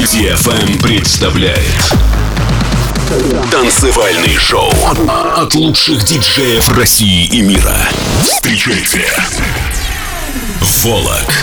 DFM представляет танцевальный шоу от лучших диджеев России и мира. Встречайте Волок.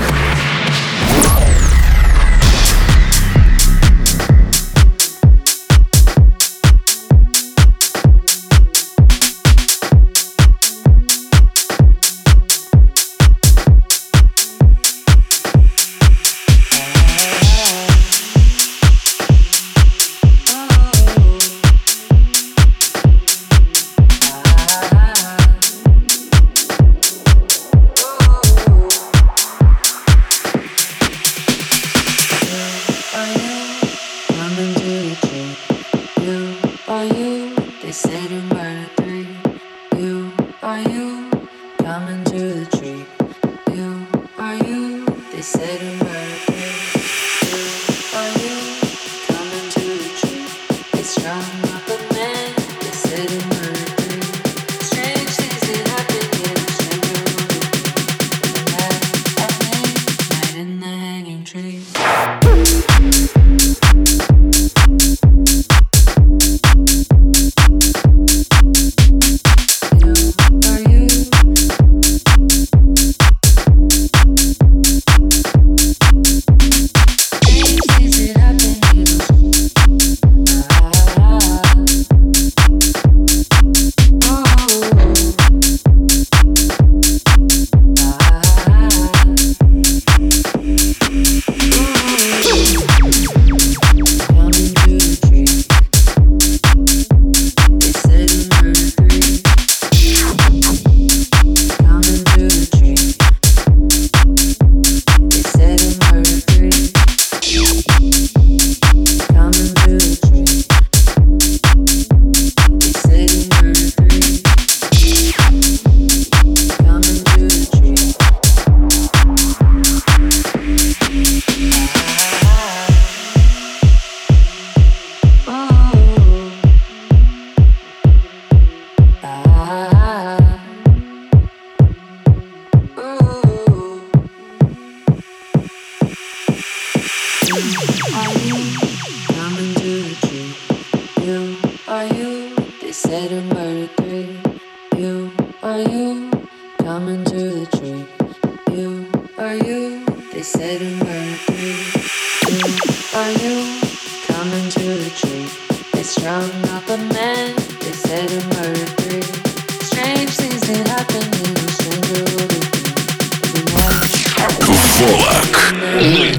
Волок на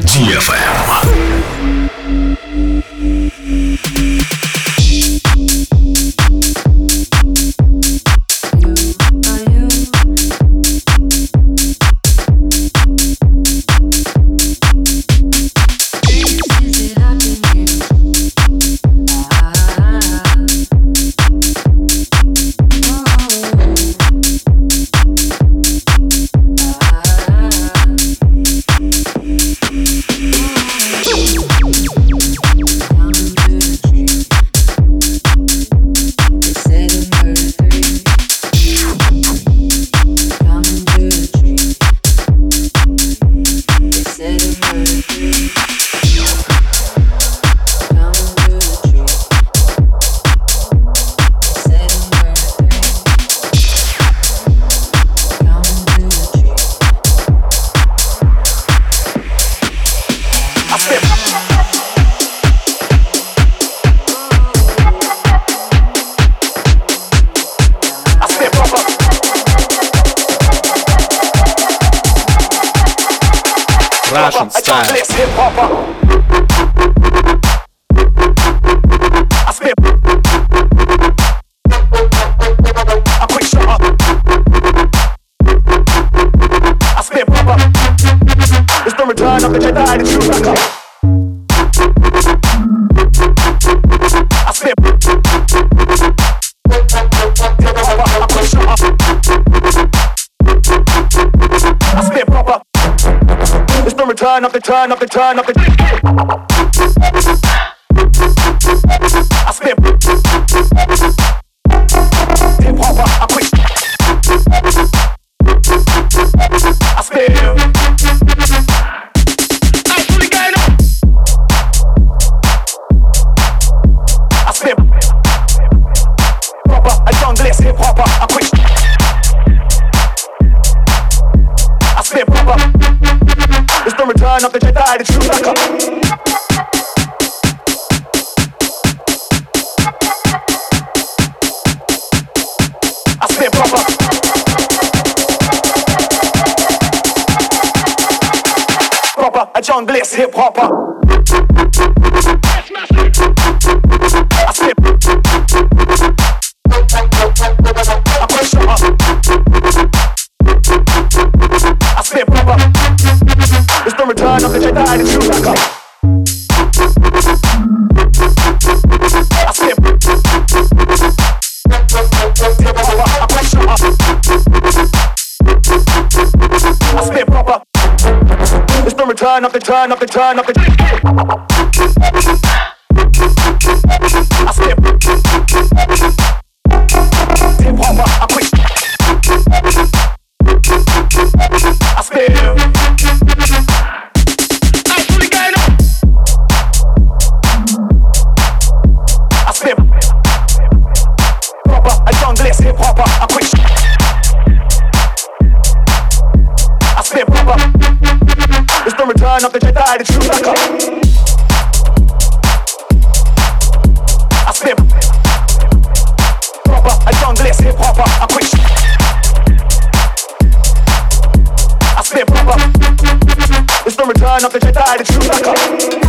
DFM. Russian style. Return of the Jedi, the true backup. I spit. I spit proper. It's the return of the turn of the turn of the. I spit. Hip hopper, I quit. I spit. proper. It's the return of the Jedi, the true backup. I spit proper. Proper, a John Bliss hip hopper. I spit. I push up. I spit proper. It's the return of the Jedi, the true backup. I spit. I push up. I spit proper. It's the return of the turn of the turn of the. I spit. Hip hopper, I quit. I spit. I spit. Proper, a John Bliss hip hopper, I quit. I spit proper. It's the return of the Jedi, the true backup. I spit proper, a John Bliss hip hopper, I quit. I spit proper. It's the return of the Jedi, the true backup.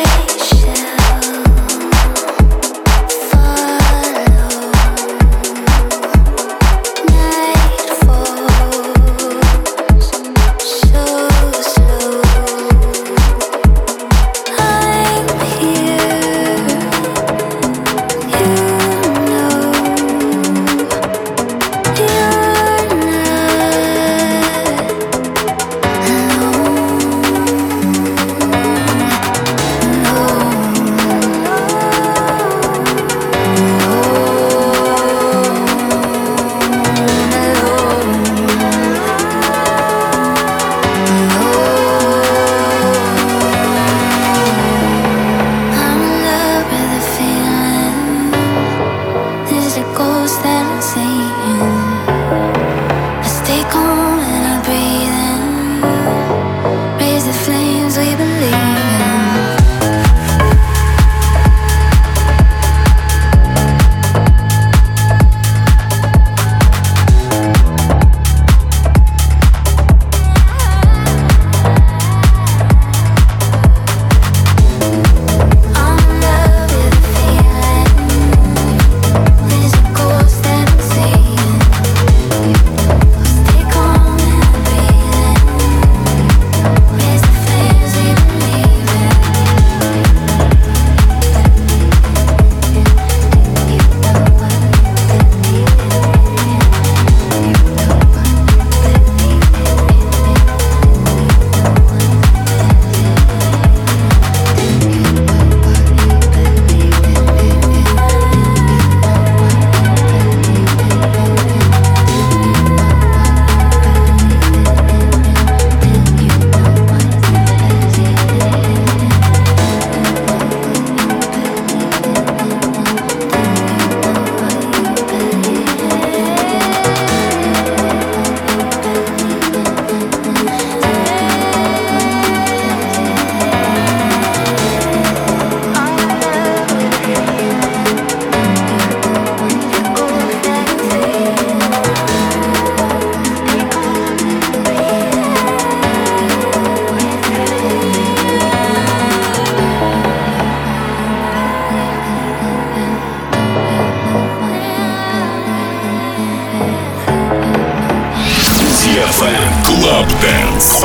Club Dance.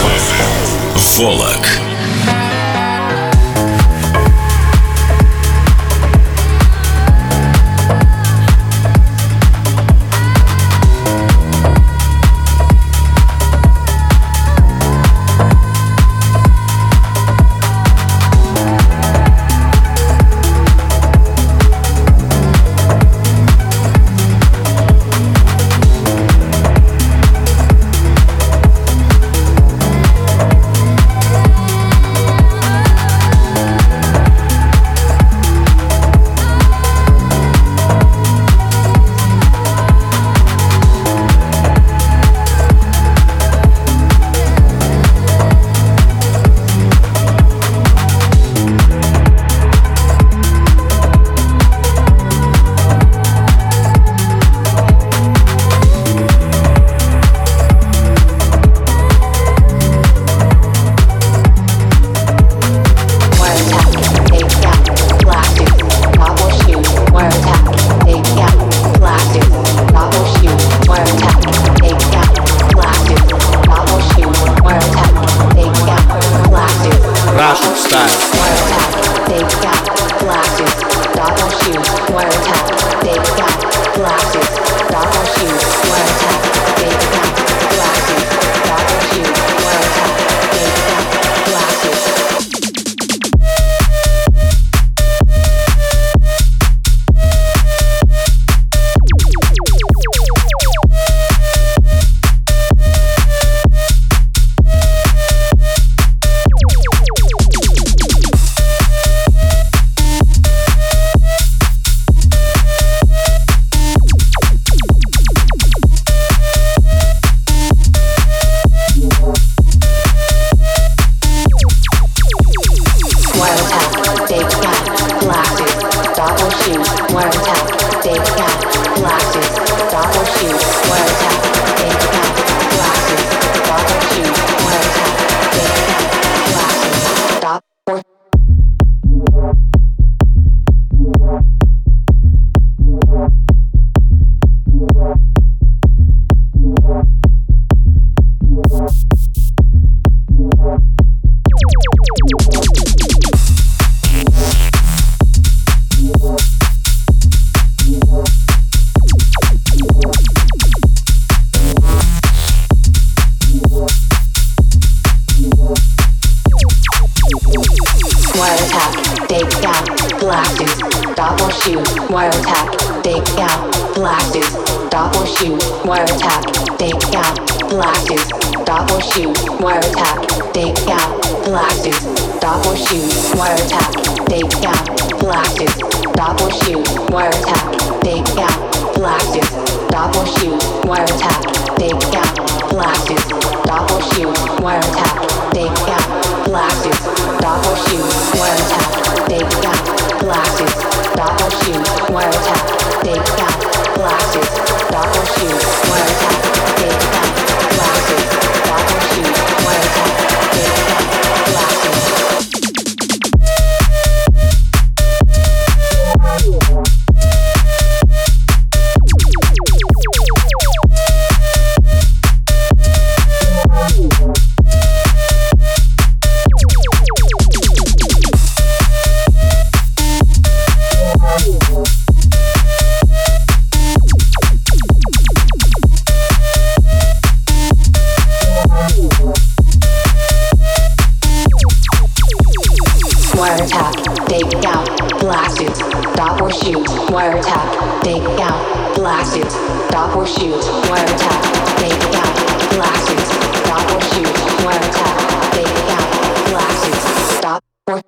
Волок. wiretap, takedown, blasted, stop or shoot, wiretap, takedown, blasted, stop or shoot, wiretap, takedown, blasted, stop or shoot, wiretap, takedown, blasted, stop or shoot, wiretap, takedown, blasted, stop or shoot, wiretap, takedown, blasted, stop or shoot, wiretap, takedown, blasted, stop or shoot, wiretap, takedown, blasted, stop or shoot, wiretap, takedown, blasted, stop or shoot, wiretap, takedown, blasted, stop or shoot, wiretap, takedown, blasted, stop or shoot, wiretap, takedown, blasted. Wiretap, takedown, blasted, stop or shoot, wiretap, takedown, blasted, stop or shoot, wiretap, takedown, blasted, stop or shoot, wiretap, takedown, blasted, stop or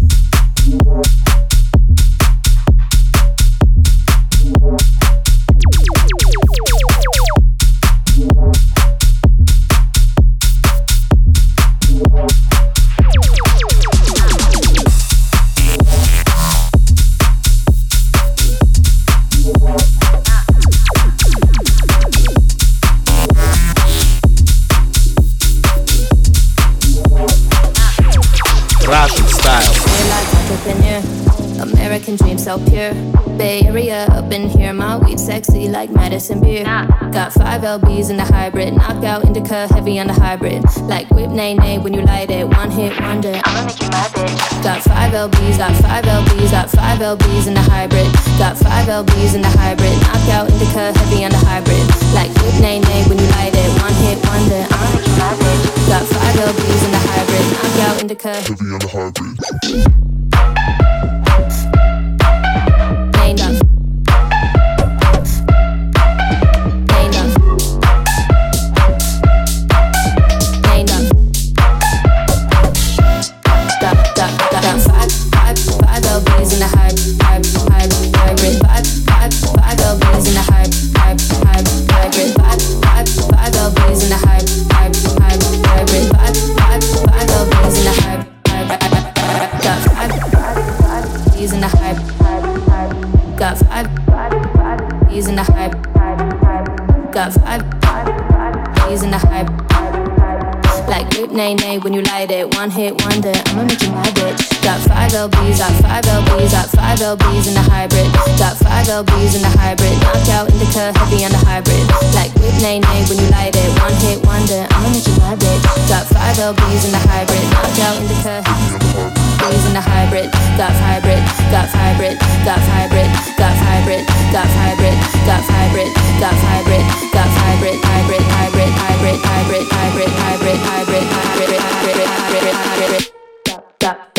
Russian style. American dream so pure. Bay Area up in here, my weed sexy like Madison beer. Got 5 LBs in the hybrid, knockout indica heavy on the hybrid. Like whip nay nay when you light it, one hit wonder. I'ma make you my bitch. Got 5 LBs, got 5 LBs, got 5 LBs in the hybrid. Got 5 LBs in the hybrid, knockout indica heavy on the hybrid. Like whip nay nay when you light it, one hit wonder. I'ma make you my bitch. Got 5 LBs in the hybrid, knockout indica heavy on the hybrid. Nay nay when you light it, one hit wonder. I'ma make you my bitch. Got 5 LBs, got 5 LBs, got 5 LBs in the hybrid. Got 5 LBs in the hybrid. Knockout indica heavy on the hybrid. Like whip nay nay when you light it, one hit wonder. I'ma make you my bitch. Got 5 LBs in the hybrid. Knockout indica LBs in the hybrid. Got hybrid, got hybrid, got hybrid, got hybrid, got hybrid, got hybrid, got hybrid, got hybrid, hybrid, hybrid, hybrid, hybrid, hybrid, hybrid, hybrid, hybrid, hybrid, hybrid, hybrid. Got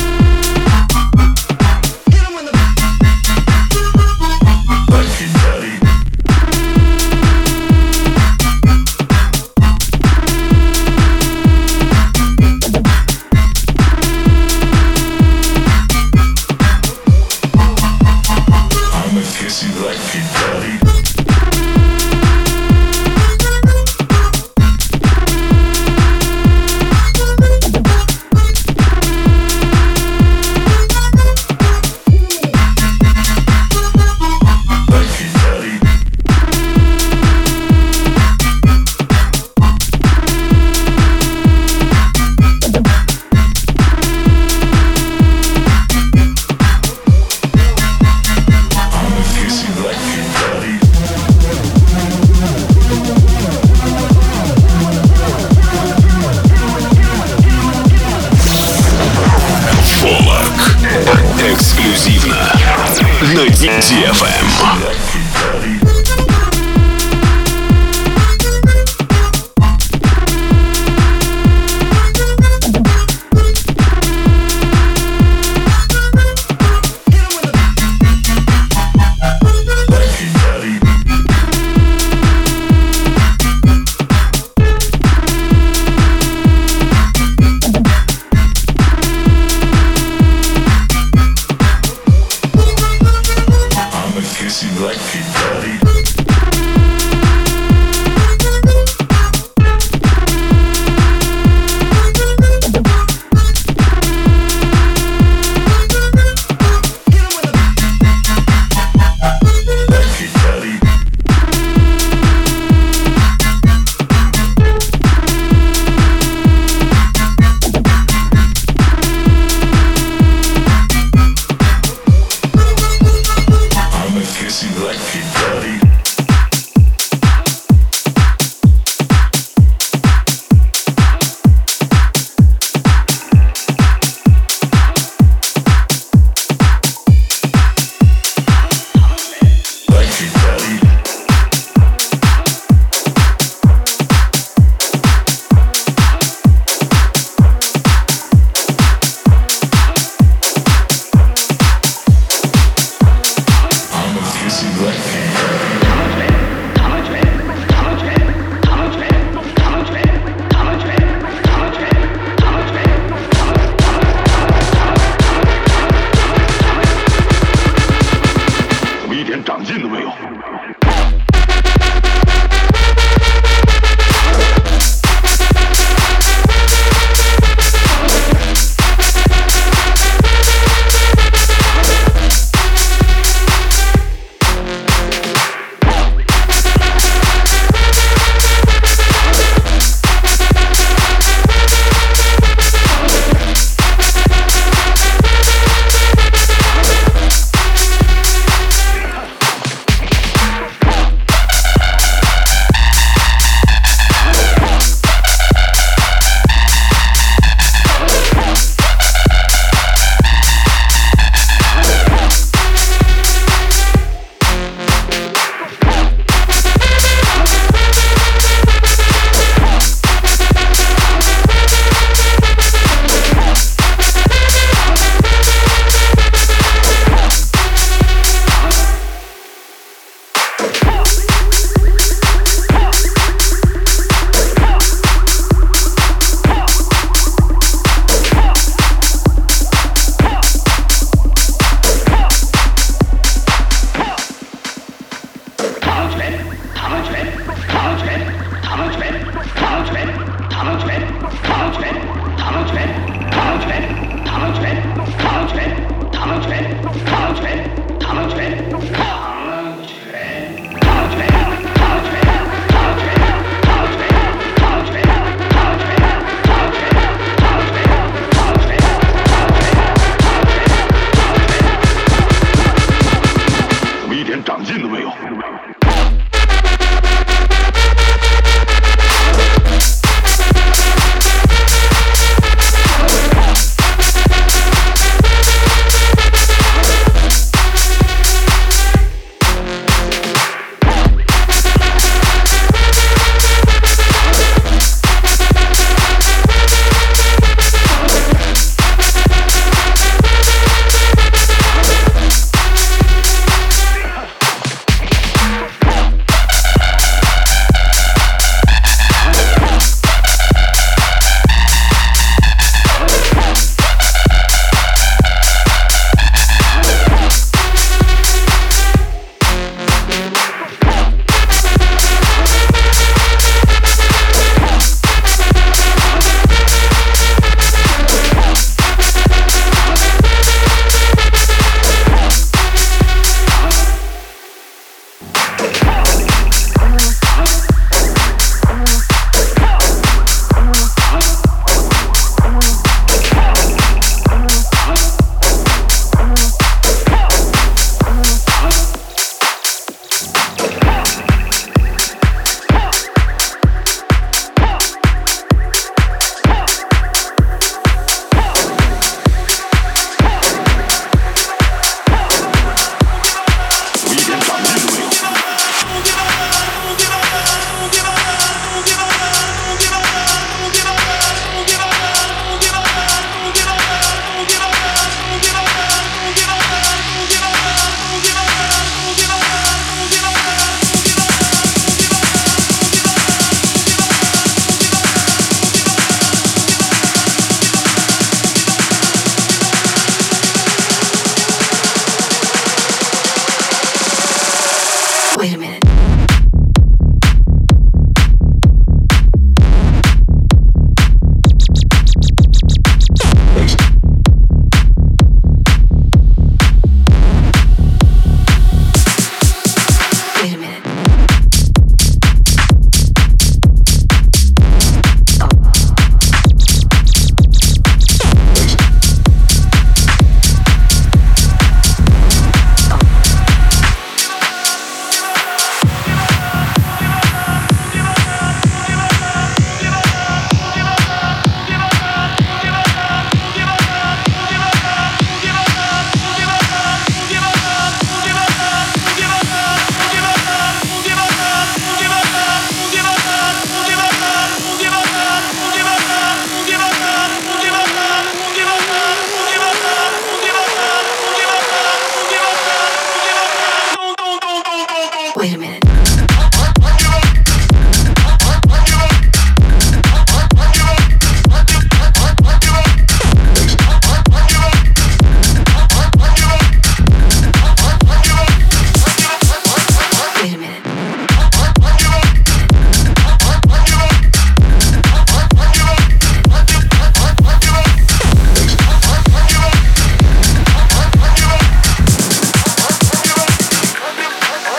Daddy. Эксклюзивно на DFM.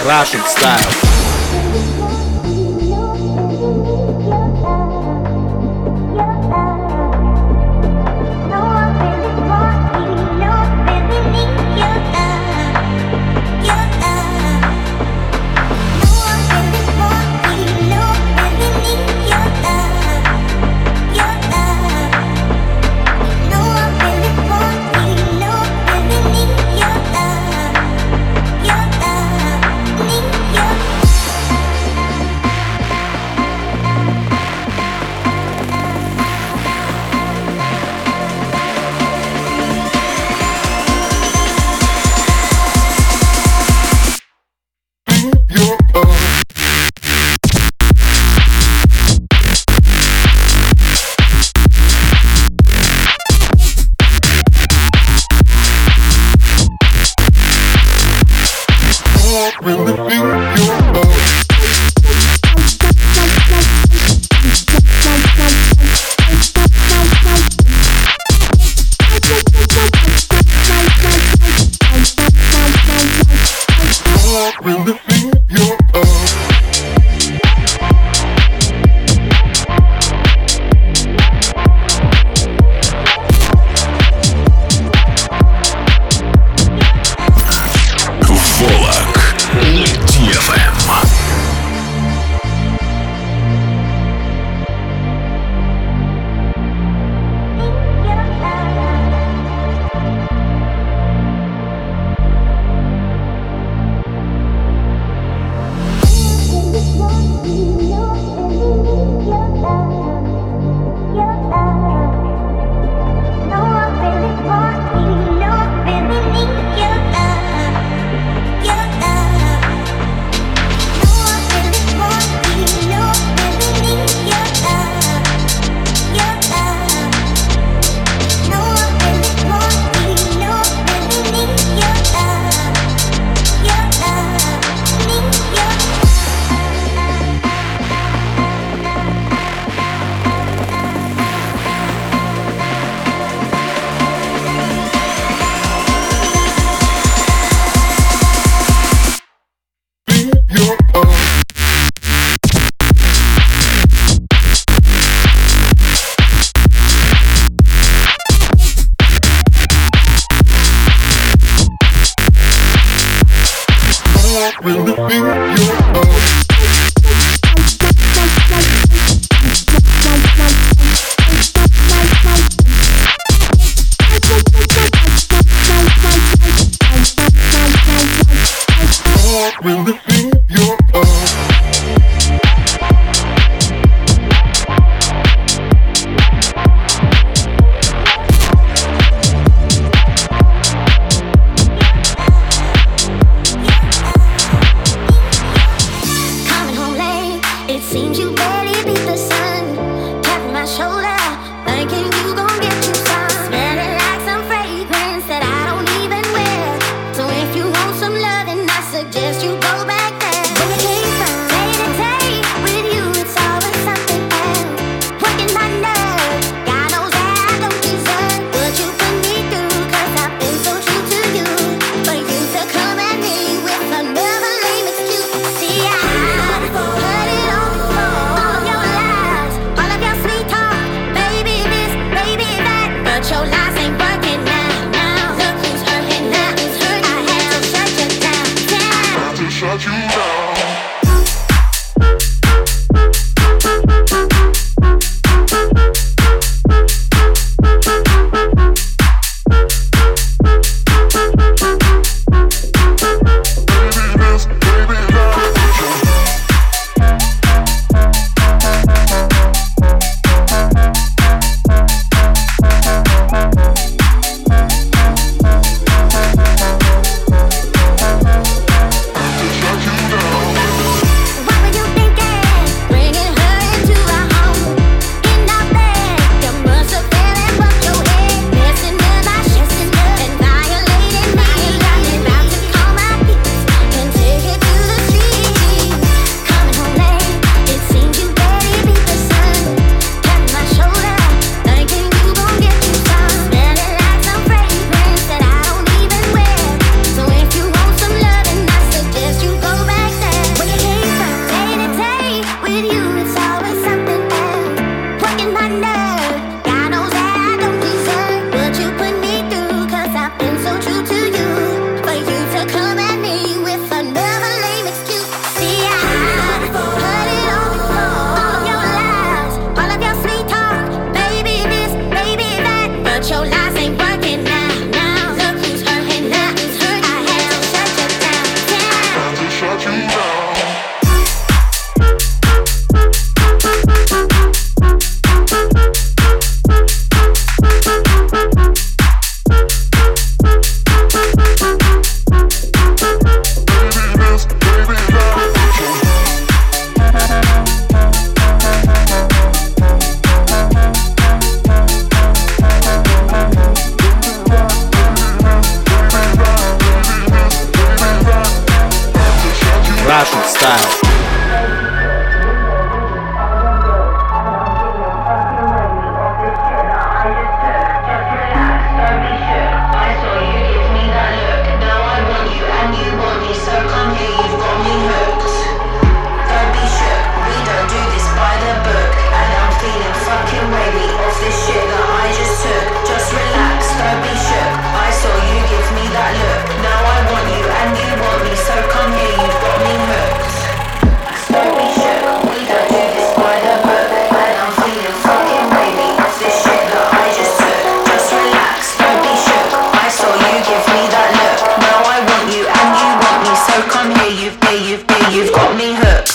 Russian style. style. You've got me hooked.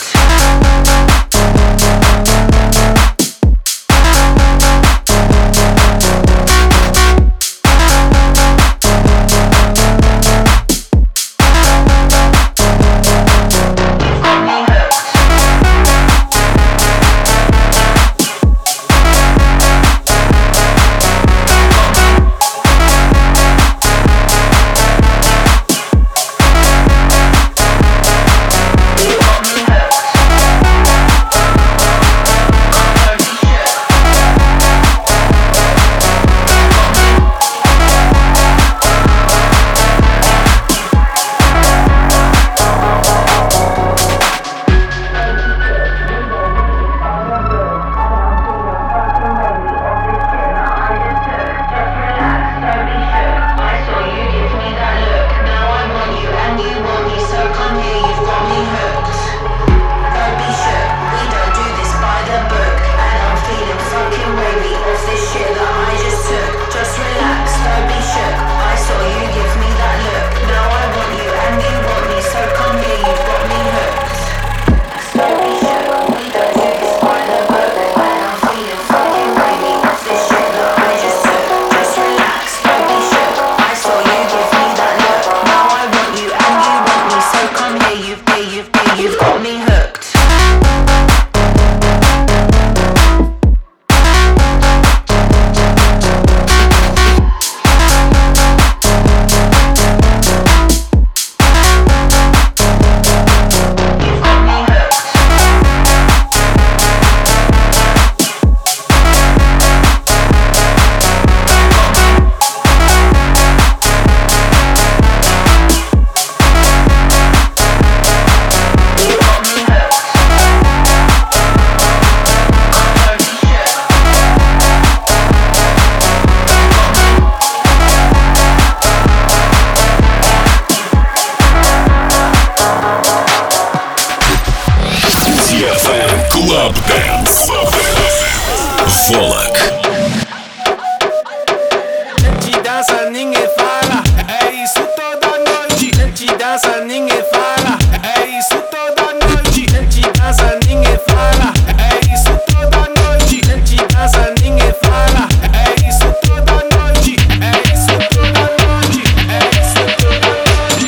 You've got me hooked. Club Dance. Volk. Gente dança, ninguém fala. É isso toda noite. Gente dança, ninguém fala. É isso toda noite. Gente dança, ninguém fala. É isso toda noite. Gente dança, ninguém fala. É isso toda noite. É isso toda noite. É isso toda noite.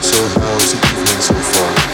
So how's the evening so far?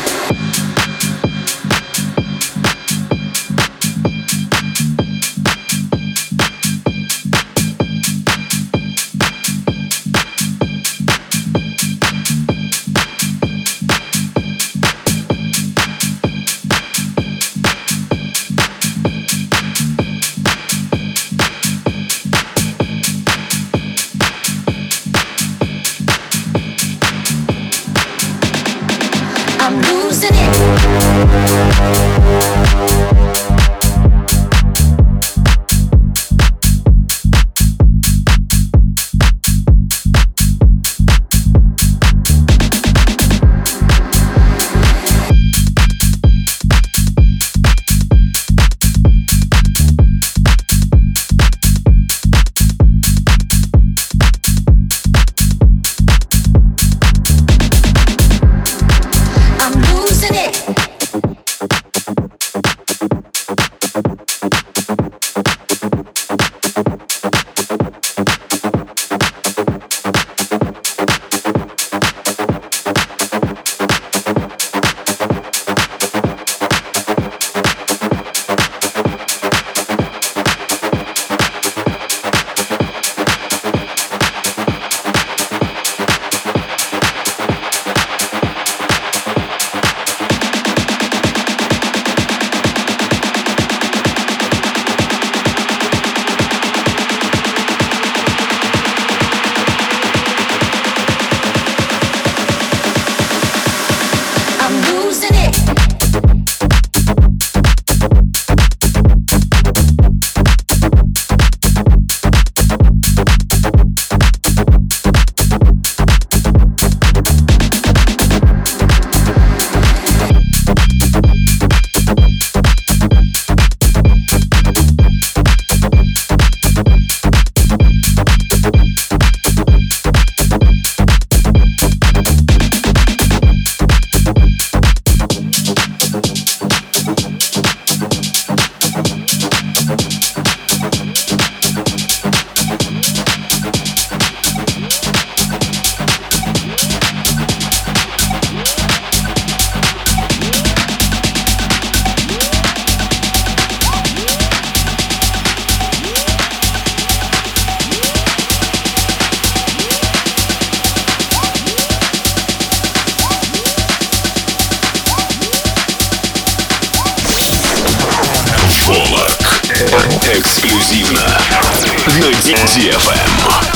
Эксклюзивно на DFM.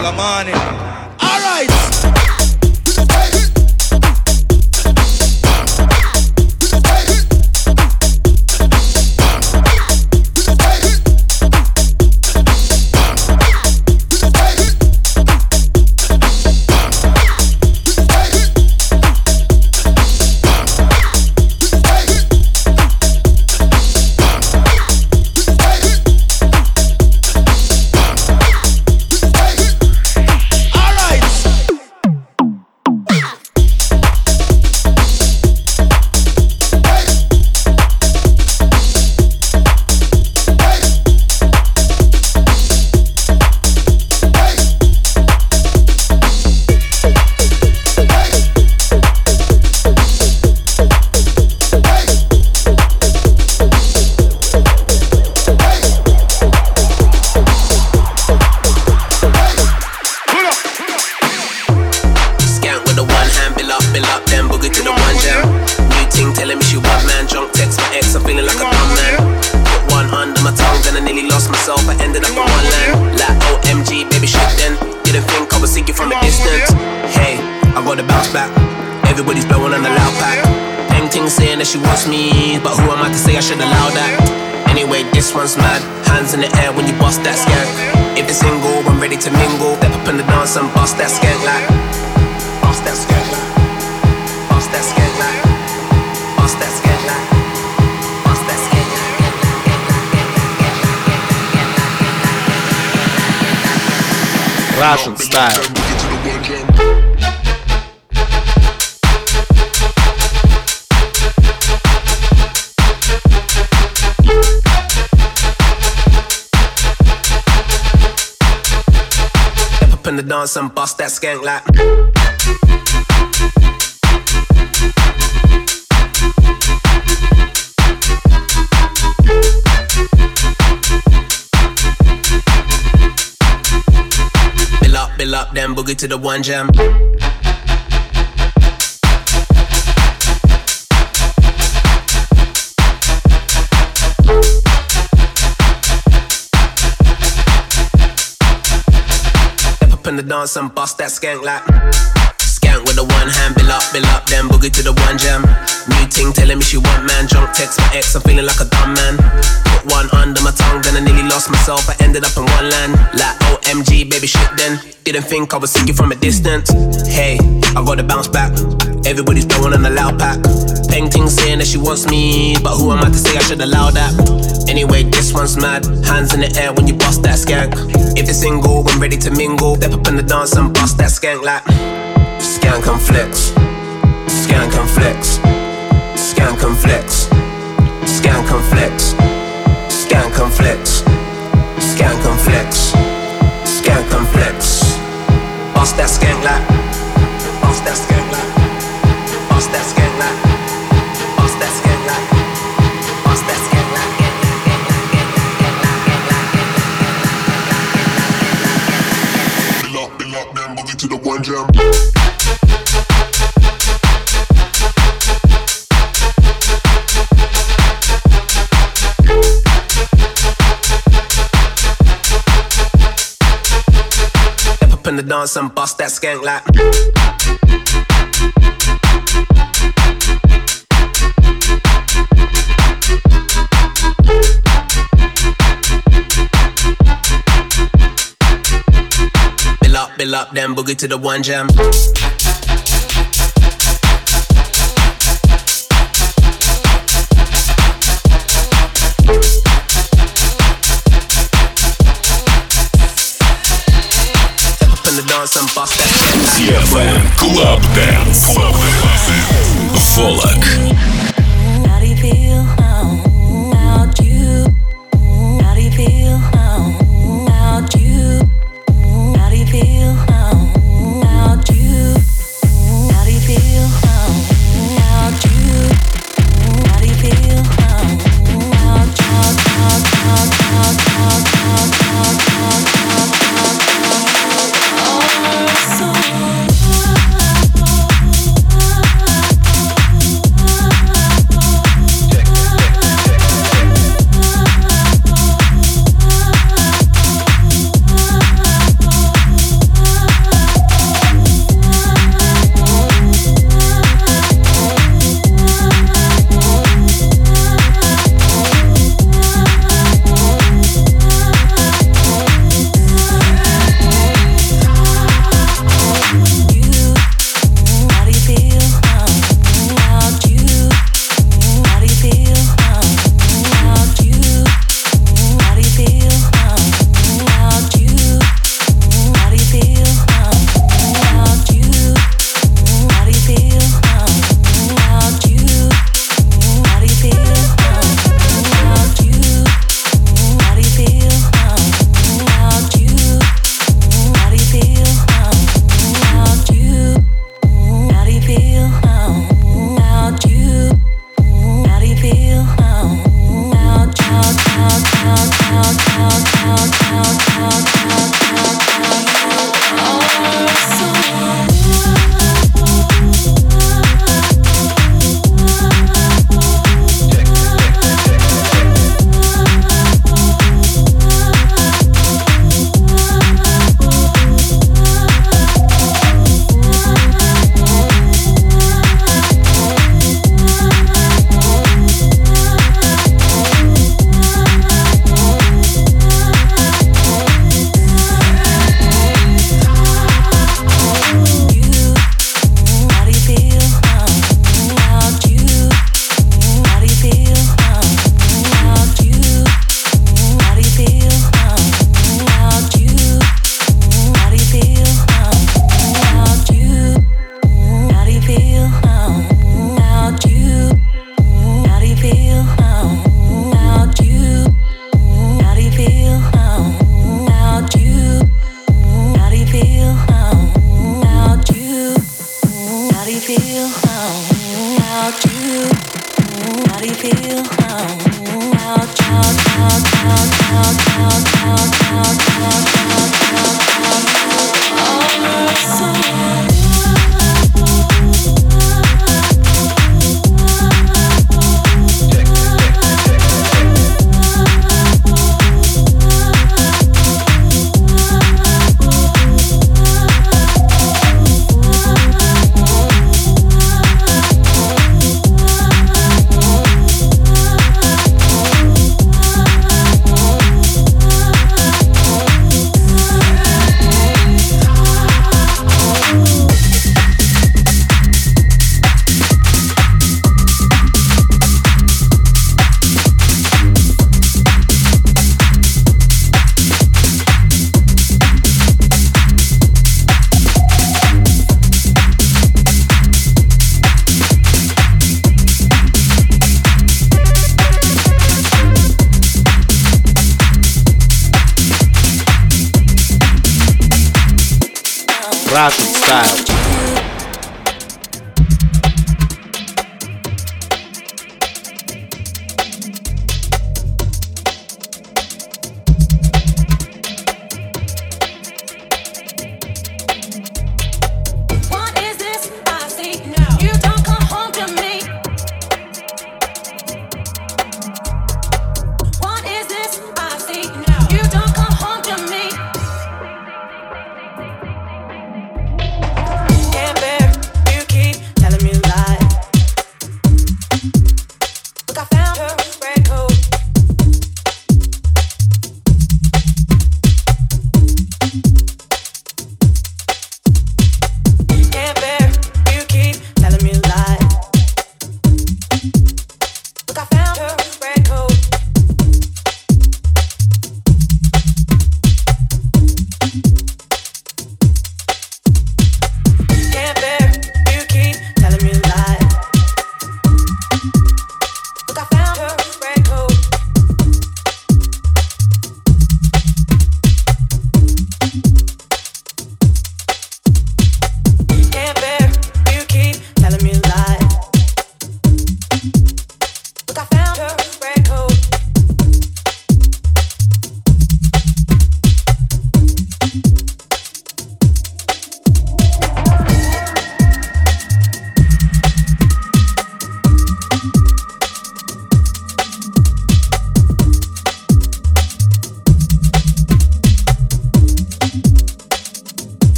till the morning. Alright. She wants me, but who am I to say I should allow that? Anyway, this one's mad. Hands in the air when you bust that skank. If it's single, I'm ready to mingle. Step up in the dance and bust that skank like. Bust that skank like. Bust that skank like. Bust that skank like. Bust that skank like. Russian style. In the dance and bust that skank like. Bill up, then boogie to the one jam. In the dance and bust that skank like. Skank with the one hand, bill up, then boogie to the one jam. New ting telling me she want man, drunk text my ex, I'm feeling like a dumb man. Put one under my tongue, then I nearly lost myself, I ended up in one land. Like OMG, baby shit then, didn't think I would see you from a distance. Hey, I gotta bounce back, everybody's blowing on the loud pack. Peng ting saying that she wants me, but who am I to say I should allow that? Anyway, this one's mad, hands in the air when you bust that skank. If it's single, I'm ready to mingle. Step up in the dance and bust that skank like. Skank and flex, skank and flex, skank and flex, skank and flex, skank and flex, skank and flex, skank and flex. Bust that skank like, bust that skank like, bust that skank like, bust that skank like, bust that skank like. Bill up, then boogie to the one jam. In the dance and bust that skank like. Bill up, then boogie to the one jam. Dance and bust that shit. DFM Club Dance. Volok. How do you feel about you? How do you feel about you? How do you feel about you? How do you feel about you? How do you feel about feel about you? How do you feel about Russian style.